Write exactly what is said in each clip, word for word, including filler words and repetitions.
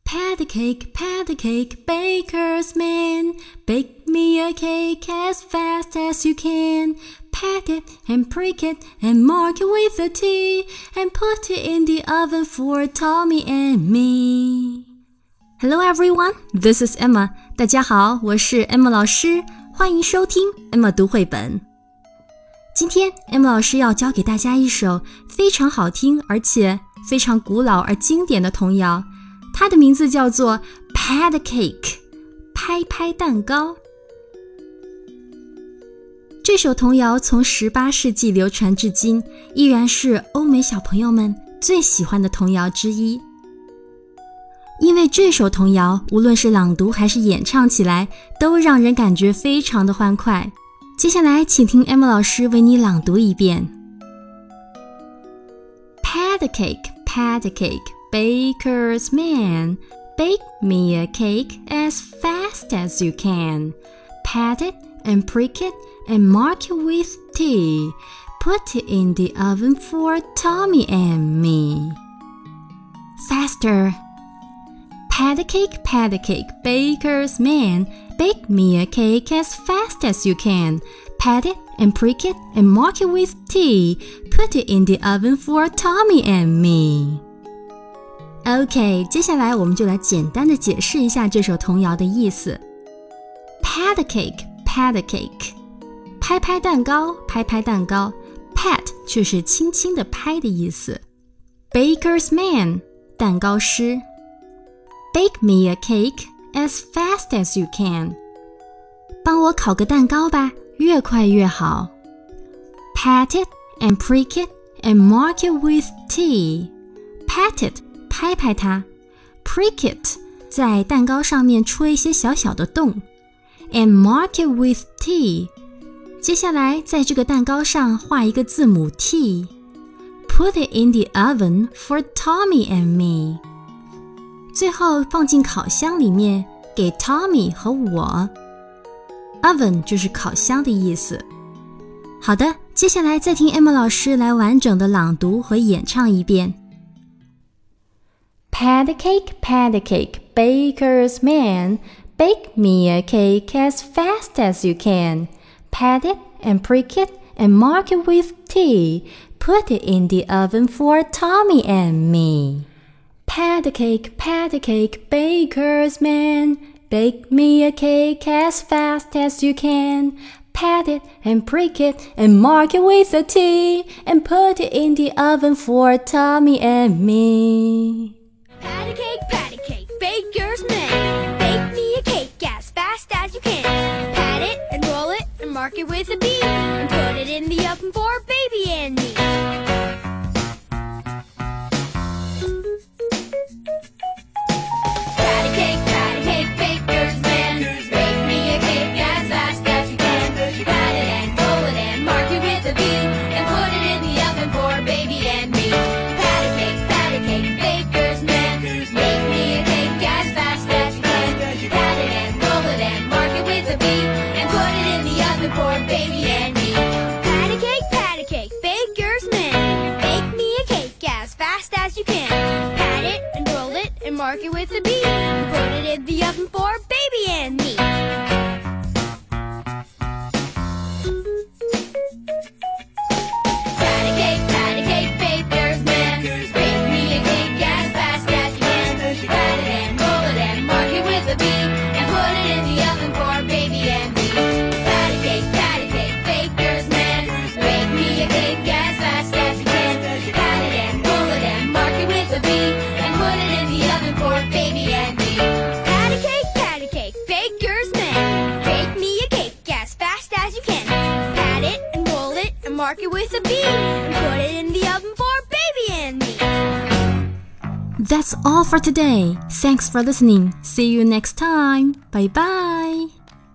Pat a cake, pat a cake, baker's man. Bake me a cake as fast as you can. Pat it and prick it and mark it with a T and put it in the oven for Tommy and me. Hello everyone, this is Emma. 大家好，我是 Emma 老师，欢迎收听 Emma 读绘本。今天 Emma 老师要教给大家一首非常好听而且非常古老而经典的童谣，它的名字叫做 Pat a Cake， 拍拍蛋糕。这首童谣从十八世纪流传至今，依然是欧美小朋友们最喜欢的童谣之一。因为这首童谣无论是朗读还是演唱起来，都让人感觉非常的欢快。接下来请听 Emma 老师为你朗读一遍。 Pat a cake, pat a cake, baker's man. Bake me a cake as fast as you can. Pat it and prick it and mark it with T. Put it in the oven for Tommy and me. Faster. Pat a cake, pat a cake, baker's man. Bake me a cake as fast as you can. Pat it and prick it and mark it with T. Put it in the oven for Tommy and me. OK, 接下来我们就来简单的解释一下这首童谣的意思。Pat a cake, pat a cake. 拍拍蛋糕，拍拍蛋糕。Pat 就是轻轻的拍的意思。Baker's man, 蛋糕师。Bake me a cake as fast as you can. 帮我烤个蛋糕吧，越快越好。Pat it and prick it and mark it with T. Pat it, 拍拍它。Prick it, 在蛋糕上面戳一些小小的洞。And mark it with T. 接下来在这个蛋糕上画一个字母 T. Put it in the oven for Tommy and me. 最后放进烤箱里面，给 Tommy 和我。Oven 就是烤箱的意思。好的，接下来再听 Emma 老师来完整的朗读和演唱一遍。Pat a cake, pat a cake, baker's man. Bake me a cake as fast as you can. Pat it and prick it and mark it with T. Put it in the oven for Tommy and me. Pat a cake, pat a cake, baker's man. Bake me a cake as fast as you can. Pat it and prick it and mark it with a T. And put it in the oven for Tommy and me. Pat a cake, pat a cake, baker's man. Bake me a cake as fast as you can. Pat it and roll it and mark it with a B. And put it in the oven for baby and me. Mark it with a B and put it in the oven for baby and me. Pat a cake, pat a cake, baker's man. Bake me a cake as fast as you can. Pat it and roll it and mark it with a B and put it in the oven for baby and me. Pat a cake, pat a cake, baker's man. Bake me a cake as fast as you can. Pat it and roll it and mark it with a B and put it in the oven for baby and me. Pat a cake, pat a cake, baker's man. Bake me a cake as fast as you can. Pat it and roll it and mark it with a B and put it in the oven for baby and me. That's all for today. Thanks for listening. See you next time. Bye bye.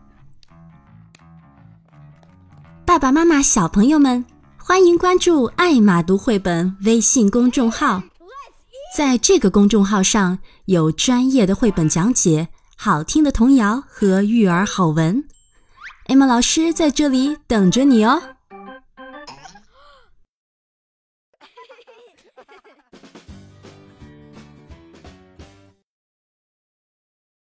爸爸妈妈、小朋友们，欢迎关注艾玛读绘本微信公众号。在这个公众号上有专业的绘本讲解、好听的童谣和育儿好文。Emma 老师在这里等着你哦。